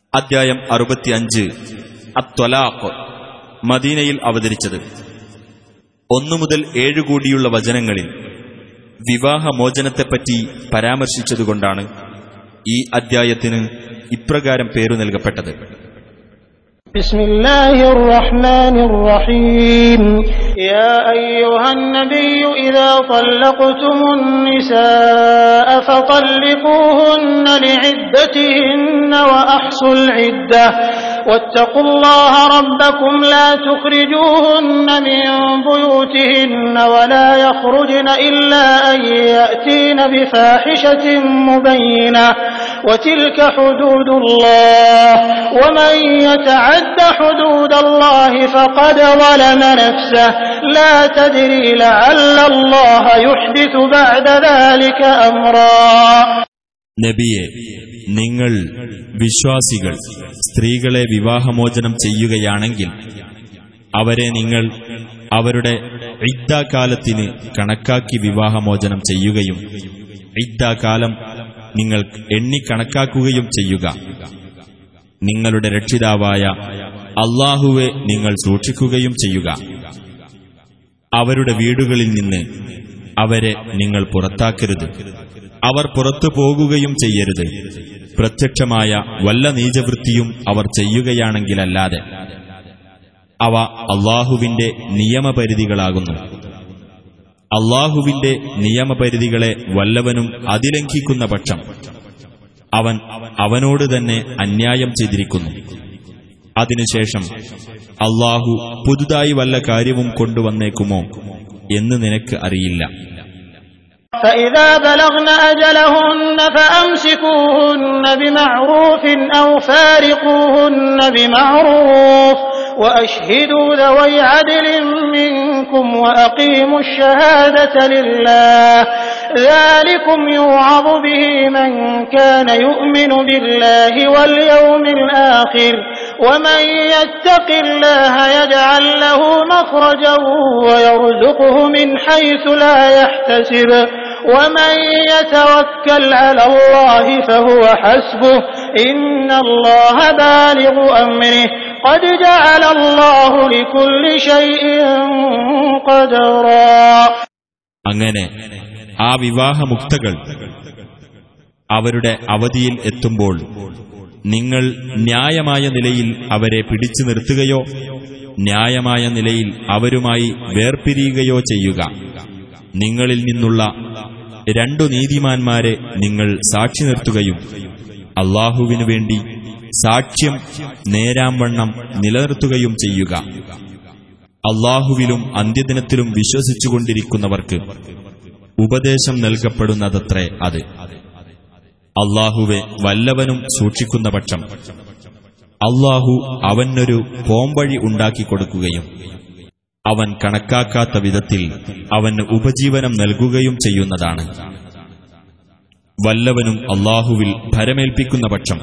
അദ്ധ്യായം 65 അത്വലാഖ്. മദീനയിൽ അവതരിച്ചത്. 1 മുതൽ 7 കൂടിയുള്ള വചനങ്ങളിൽ വിവാഹമോചനത്തെപ്പറ്റി പരാമർശിച്ചതുകൊണ്ടാണ് ഈ അദ്ധ്യായത്തിന് ഇപ്രകാരം പേരു നൽകപ്പെട്ടത്. ബിസ്മില്ലാഹിർ റഹ്മാനിർ റഹീം. യാ അയ്യുഹൻ നബിയ്യു ഇദാ തല്ലഖ്തുമുൻ നിസാഅ ഫതല്ലിഖൂഹുന്ന ലിഇദ്ദതിഹിന്ന വഅഹ്സുൽ ഇദ്ദഹ വത്തഖുല്ലാഹ റബ്ബക്കും ലാ തുഖ്രിജൂഹുന്ന മിൻ ബുയൂതിഹിന്ന വലാ യഖ്റുജ്ന ഇല്ലാ അൻ യഅതീന ബിഫാഹിശത്തിൻ മുബയ്യിനഹ വതിൽക ഹുദൂദുല്ലാഹ് വമൻ യതഅദ്ദ ഹുദൂദല്ലാഹി ഫഖദ് ളലമ നഫ്സഹു ലാ തദ്രി ലഅല്ലല്ലാഹ യുഹ്ദിഥു ബഅദ ദാലിക അംറാ. നബിയെ, നിങ്ങൾ വിശ്വാസികൾ സ്ത്രീകളെ വിവാഹമോചനം ചെയ്യുകയാണെങ്കിൽ അവരെ നിങ്ങൾ അവരുടെ ഇദ്ദാകാലത്തിന് കണക്കാക്കി വിവാഹമോചനം ചെയ്യുകയും ഇദ്ദാകാലം നിങ്ങൾ എണ്ണിക്കണക്കാക്കുകയും ചെയ്യുക. നിങ്ങളുടെ രക്ഷിതാവായ അല്ലാഹുവെ നിങ്ങൾ സൂക്ഷിക്കുകയും ചെയ്യുക. അവരുടെ വീടുകളിൽ നിന്ന് അവരെ നിങ്ങൾ പുറത്താക്കരുത്. അവർ പുറത്തു പോകുകയും ചെയ്യരുത്, പ്രത്യക്ഷമായ വല്ല നീചവൃത്തിയും അവർ ചെയ്യുകയാണെങ്കിലല്ലാതെ. അവ അല്ലാഹുവിന്റെ നിയമപരിധികളാകുന്നു. അല്ലാഹുവിന്റെ നിയമപരിധികളെ വല്ലവനും അതിലംഘിക്കുന്ന പക്ഷം അവൻ അവനോട് തന്നെ അന്യായം ചെയ്തിരിക്കുന്നു. അതിനുശേഷം അല്ലാഹു പുതുതായി വല്ല കാര്യവും കൊണ്ടുവന്നേക്കുമോ എന്ന് നിനക്ക് അറിയില്ല. فإذا بلغن أجلهن فأمسكوهن بمعروف أو فارقوهن بمعروف وأشهدوا ذوي عدل منكم وأقيموا الشهادة لله ذلكم يوعظ به من كان يؤمن بالله واليوم الآخر ومن يتق الله يجعل له مخرجا ويرزقه من حيث لا يحتسب ومن يتوكل على الله فهو حسبه إن الله بالغ أمره قد جعل الله لكل شيء قدرا. അങ്ങനെ ആ വിവാഹമുക്തകൾ അവരുടെ അവധിയിൽ എത്തുമ്പോൾ നിങ്ങൾ ന്യായമായ നിലയിൽ അവരെ പിടിച്ചു നിർത്തുകയോ ന്യായമായ നിലയിൽ അവരുമായി വേർപിരിയുകയോ ചെയ്യുക. നിങ്ങളിൽ നിന്നുള്ള 2 നീതിമാന്മാരെ നിങ്ങൾ സാക്ഷി നിർത്തുകയും അല്ലാഹുവിനു വേണ്ടി സാക്ഷ്യം നേരാംവണ്ണം നിലനിർത്തുകയും ചെയ്യുക. അല്ലാഹുവിലും അന്ത്യദിനത്തിലും വിശ്വസിച്ചുകൊണ്ടിരിക്കുന്നവർക്ക് ഉപദേശം നൽകപ്പെടുന്നതത്രേ അത്. അല്ലാഹുവെ വല്ലവനും സൂക്ഷിക്കുന്ന പക്ഷം അല്ലാഹു അവനൊരു പോംവഴി ഉണ്ടാക്കിക്കൊടുക്കുകയും അവൻ കണക്കാക്കാത്ത വിധത്തിൽ അവന് ഉപജീവനം നൽകുകയും ചെയ്യുന്നതാണ്. വല്ലവനും അല്ലാഹുവിൽ ഭരമേൽപ്പിക്കുന്ന പക്ഷം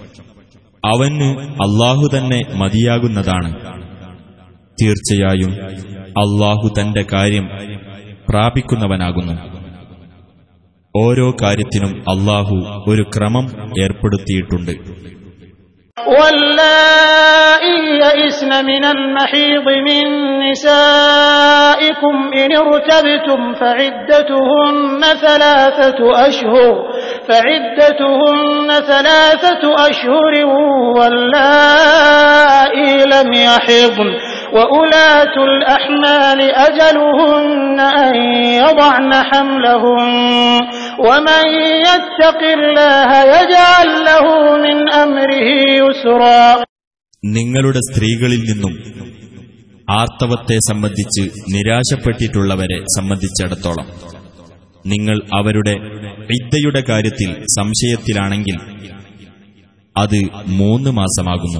അവന് അല്ലാഹു തന്നെ മതിയാകുന്നതാണ്. തീർച്ചയായും അല്ലാഹു തന്റെ കാര്യം പ്രാപിക്കുന്നവനാകുന്നു. ഓരോ കാര്യത്തിനും അല്ലാഹു ഒരു ക്രമം ഏർപ്പെടുത്തിയിട്ടുണ്ട്. واللائي يئسن من المحيض من نسائكم إن ارتبتم فعدتهن 3 أشهر واللائي لم يحضن وأولاة الأحمال أجلهن أن يضعن حملهن ومن يتق الله يجعل له من أمره يسرا. നിങ്ങളുടെ സ്ത്രീകളിൽ നിന്നും ആർത്തവത്തെ സംബന്ധിച്ച് നിരാശപ്പെട്ടിട്ടുള്ളവരെ സംബന്ധിച്ചിടത്തോളം നിങ്ങൾ അവരുടെ ഇദ്ദയുടെ കാര്യത്തിൽ സംശയത്തിലാണെങ്കിൽ അത് 3 മാസമാകുന്നു.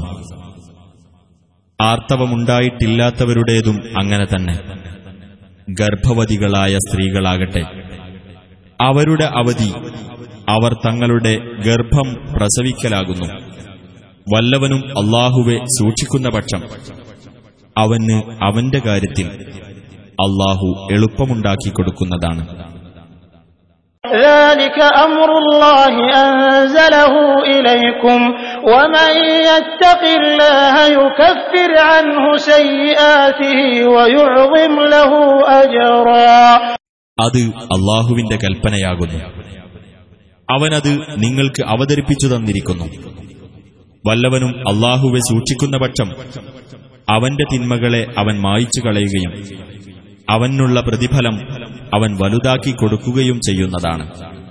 ആർത്തവമുണ്ടായിട്ടില്ലാത്തവരുടേതും അങ്ങനെ തന്നെ. ഗർഭവതികളായ സ്ത്രീകളാകട്ടെ അവരുടെ അവധി അവർ തങ്ങളുടെ ഗർഭം പ്രസവിക്കലാകുന്നു. വല്ലവനും അല്ലാഹുവെ സൂക്ഷിക്കുന്ന പക്ഷം അവന് അവന്റെ കാര്യത്തിൽ അല്ലാഹു എളുപ്പമുണ്ടാക്കിക്കൊടുക്കുന്നതാണ്. ذلك أمر الله أنزله إليكم ومن يتق الله يكفر عنه سيئاته ويعظم له أجرا. അത് അല്ലാഹുവിന്റെ കൽപ്പനയാകുന്നു. അവനത് നിങ്ങൾക്ക് അവതരിപ്പിച്ചു തന്നിരിക്കുന്നു. വല്ലവനും അല്ലാഹുവെ സൂക്ഷിക്കുന്ന പക്ഷം അവന്റെ തിന്മകളെ അവൻ മായ്ച്ചു കളയുകയും അവനുള്ള പ്രതിഫലം അവൻ വലുതാക്കി കൊടുക്കുകയും ചെയ്യുന്നതാണ്.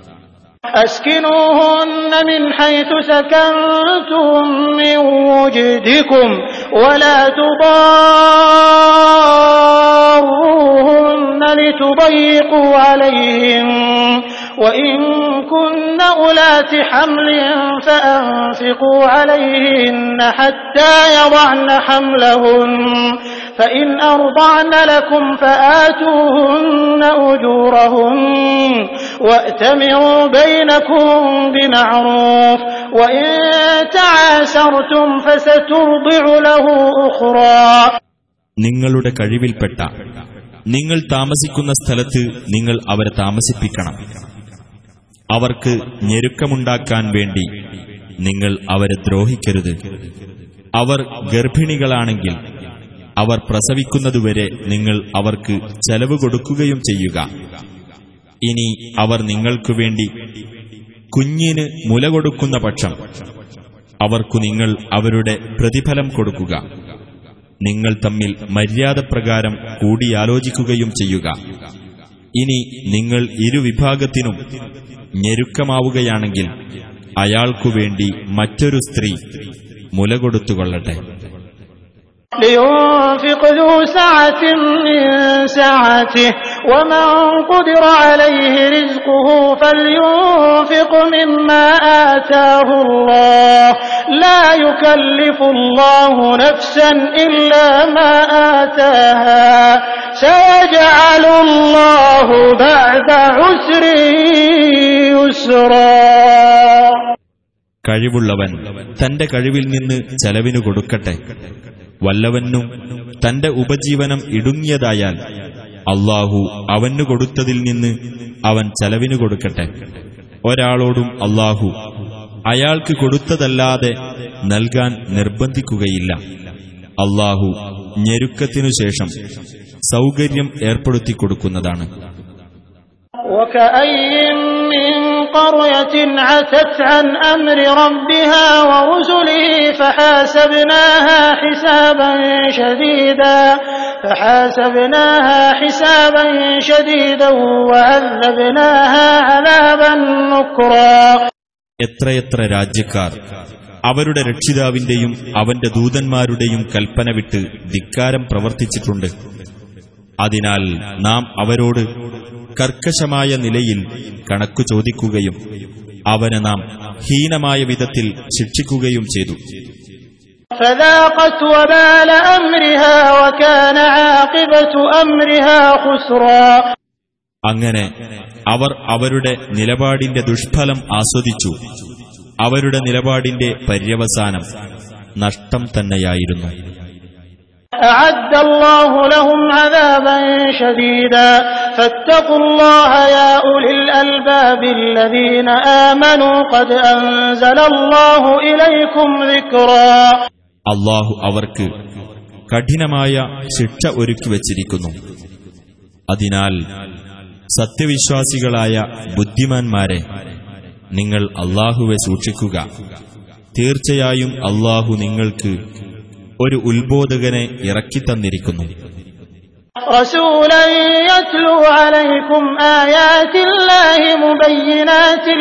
أسكنوهن من حيث سكنتم من وجدكم ولا تضاروهن لتضيقوا عليهم وإن كن أولات حمل فأنفقوا عليهن حتى يضعن حملهن فإن أرضعن لكم فآتوهن أجورهن وأتمروا بينكم بمعروف وإن تعاسرتم فسترضع له أخرى. നിങ്ങളുടെ കഴിവിൽപ്പെട്ട നിങ്ങൾ താമസിക്കുന്ന സ്ഥലത്ത് നിങ്ങൾ അവരെ താമസിപ്പിക്കണം. അവർക്ക് ഞെരുക്കമുണ്ടാക്കാൻ വേണ്ടി നിങ്ങൾ അവരെ ദ്രോഹിക്കരുത്. അവർ ഗർഭിണികളാണെങ്കിൽ അവർ പ്രസവിക്കുന്നതുവരെ നിങ്ങൾ അവർക്ക് ചെലവ് കൊടുക്കുകയും ചെയ്യുക. ഇനി അവർ നിങ്ങൾക്കുവേണ്ടി കുഞ്ഞിന് മുല കൊടുക്കുന്ന പക്ഷം അവർക്കു നിങ്ങൾ അവരുടെ പ്രതിഫലം കൊടുക്കുക. നിങ്ങൾ തമ്മിൽ മര്യാദപ്രകാരം കൂടിയാലോചിക്കുകയും ചെയ്യുക. ഇനി നിങ്ങൾ ഇരുവിഭാഗത്തിനും ഞെരുക്കമാവുകയാണെങ്കിൽ അയാൾക്കുവേണ്ടി മറ്റൊരു സ്ത്രീ മുല കൊടുത്തുകൊള്ളട്ടെ. لينفق ذو سعة من سعته ومن قدر عليه رزقه فلينفق مما آتاه الله لا يكلف الله نفسا إلا ما آتاها سيجعل الله بعد عسر يسرا. കഴിവുള്ളവൻ തന്റെ കഴിവിൽ നിന്ന് ചെലവിനു കൊടുക്കട്ടെ. വല്ലവനും തന്റെ ഉപജീവനം ഇടുങ്ങിയതായാൽ അല്ലാഹു അവനു കൊടുത്തതിൽ നിന്ന് അവൻ ചെലവിനു കൊടുക്കട്ടെ. ഒരാളോടും അല്ലാഹു അയാൾക്ക് കൊടുത്തതല്ലാതെ നൽകാൻ നിർബന്ധിക്കുകയില്ല. അല്ലാഹു ഞെരുക്കത്തിനു ശേഷം സൗകര്യം ഏർപ്പെടുത്തിക്കൊടുക്കുന്നതാണ്. قرية عتت عن أمر ربها ورسله فحاسبناها حسابا شديدا وعذبناها عذابا نكرا. എത്രയെത്ര രാജ്യക്കാർ അവരുടെ രക്ഷിതാവിന്റെയും അവന്റെ ദൂതന്മാരുടെയും കൽപ്പന വിട്ട് ധിക്കാരം പ്രവർത്തിച്ചിട്ടുണ്ട്. അതിനാൽ നാം അവരോട് കർക്കശമായ നിലയിൽ കണക്കു ചോദിക്കുകയും അവനെ നാം ഹീനമായ വിധത്തിൽ ശിക്ഷിക്കുകയും ചെയ്തു. അങ്ങനെ അവർ അവരുടെ നിലപാടിന്റെ ദുഷ്ഫലം ആസ്വദിച്ചു. അവരുടെ നിലപാടിന്റെ പര്യവസാനം നഷ്ടം തന്നെയായിരുന്നു. أعد الله لهم عذابا شديدا فاتقوا الله يا أولي الألباب الذين آمنوا قد أنزل الله إليكم ذكرا. അല്ലാഹു അവർക്ക് കഠിനമായ ശിക്ഷ ഒരുക്കി വച്ചിരിക്കുന്നു. അതിനാൽ സത്യവിശ്വാസികളായ ബുദ്ധിമാന്മാരെ, നിങ്ങൾ അല്ലാഹുവെ സൂക്ഷിക്കുക. തീർച്ചയായും അല്ലാഹു നിങ്ങൾക്ക് ഒരു ഉത്ബോധകനെ ഇറക്കിത്തന്നിരിക്കുന്നു. റസൂലൻ യത്ലു അലൈക്കും ആയാതില്ലാഹി മുബയ്യിനാതിൻ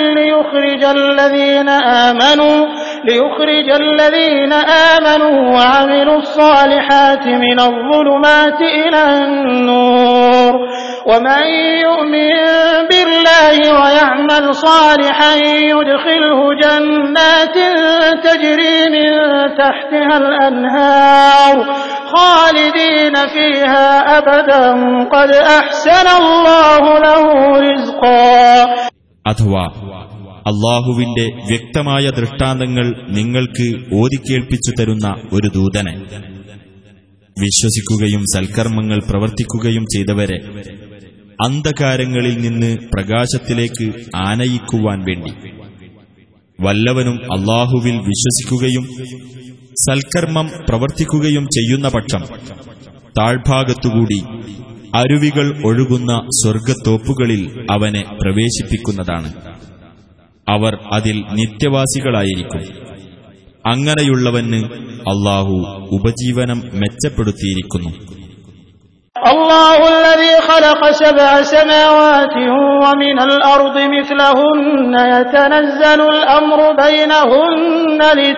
ലിയുഖ്രിജല്ലദീന ആമനൂ വഅമിലുസ് സാലിഹാതി മിനൽ-ളുലുമാതി ഇലൻ-നൂർ ومن يؤمن بالله ويعمل صالحا يدخله جنات تجري من تحتها الأنهار خالدين فيها أبدا قد أحسن الله له رزقا. അഥവാ അല്ലാഹുവിന്റെ വ്യക്തമായ ദൃഷ്ടാന്തങ്ങൾ നിങ്ങൾക്ക് ഓതിക്കേൾപ്പിച്ചു തരുന്ന ഒരു ദൂതനെ, വിശ്വസിക്കുകയും സൽക്കർമ്മങ്ങൾ പ്രവർത്തിക്കുകയും ചെയ്തവരെ അന്ധകാരങ്ങളിൽ നിന്ന് പ്രകാശത്തിലേക്ക് ആനയിക്കുവാൻ വേണ്ടി. വല്ലവനും അല്ലാഹുവിൽ വിശ്വസിക്കുകയും സൽക്കർമ്മം പ്രവർത്തിക്കുകയും ചെയ്യുന്ന പക്ഷം താഴ്ഭാഗത്തുകൂടി അരുവികൾ ഒഴുകുന്ന സ്വർഗ്ഗത്തോപ്പുകളിൽ അവനെ പ്രവേശിപ്പിക്കുന്നതാണ്. അവർ അതിൽ നിത്യവാസികളായിരിക്കും. അങ്ങനെയുള്ളവന് അല്ലാഹു ഉപജീവനം മെച്ചപ്പെടുത്തിയിരിക്കുന്നു. الله الذي خلق 7 سماوات ومن الأرض مثلهن يتنزل الأمر بينهن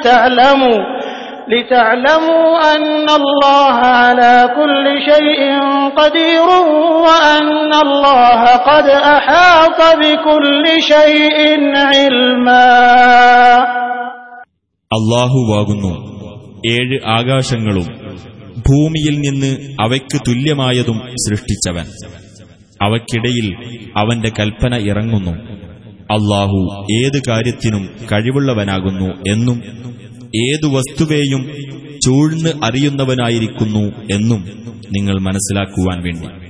لتعلموا أن الله على كل شيء قدير وأن الله قد أحاط بكل شيء علما. അല്ലാഹുവാകുന്നു 7 ആകാശങ്ങളും ഭൂമിയിൽ നിന്ന് അവയ്ക്ക് തുല്യമായതും സൃഷ്ടിച്ചവൻ. അവയ്ക്കിടയിൽ അവന്റെ കൽപ്പന ഇറങ്ങുന്നു. അല്ലാഹു ഏത് കാര്യത്തിനും കഴിവുള്ളവനാകുന്നു എന്നും ഏതു വസ്തുവേയും ചൂഴ്ന്ന് അറിയുന്നവനായിരിക്കുന്നു എന്നും നിങ്ങൾ മനസ്സിലാക്കുവാൻ വേണ്ടി.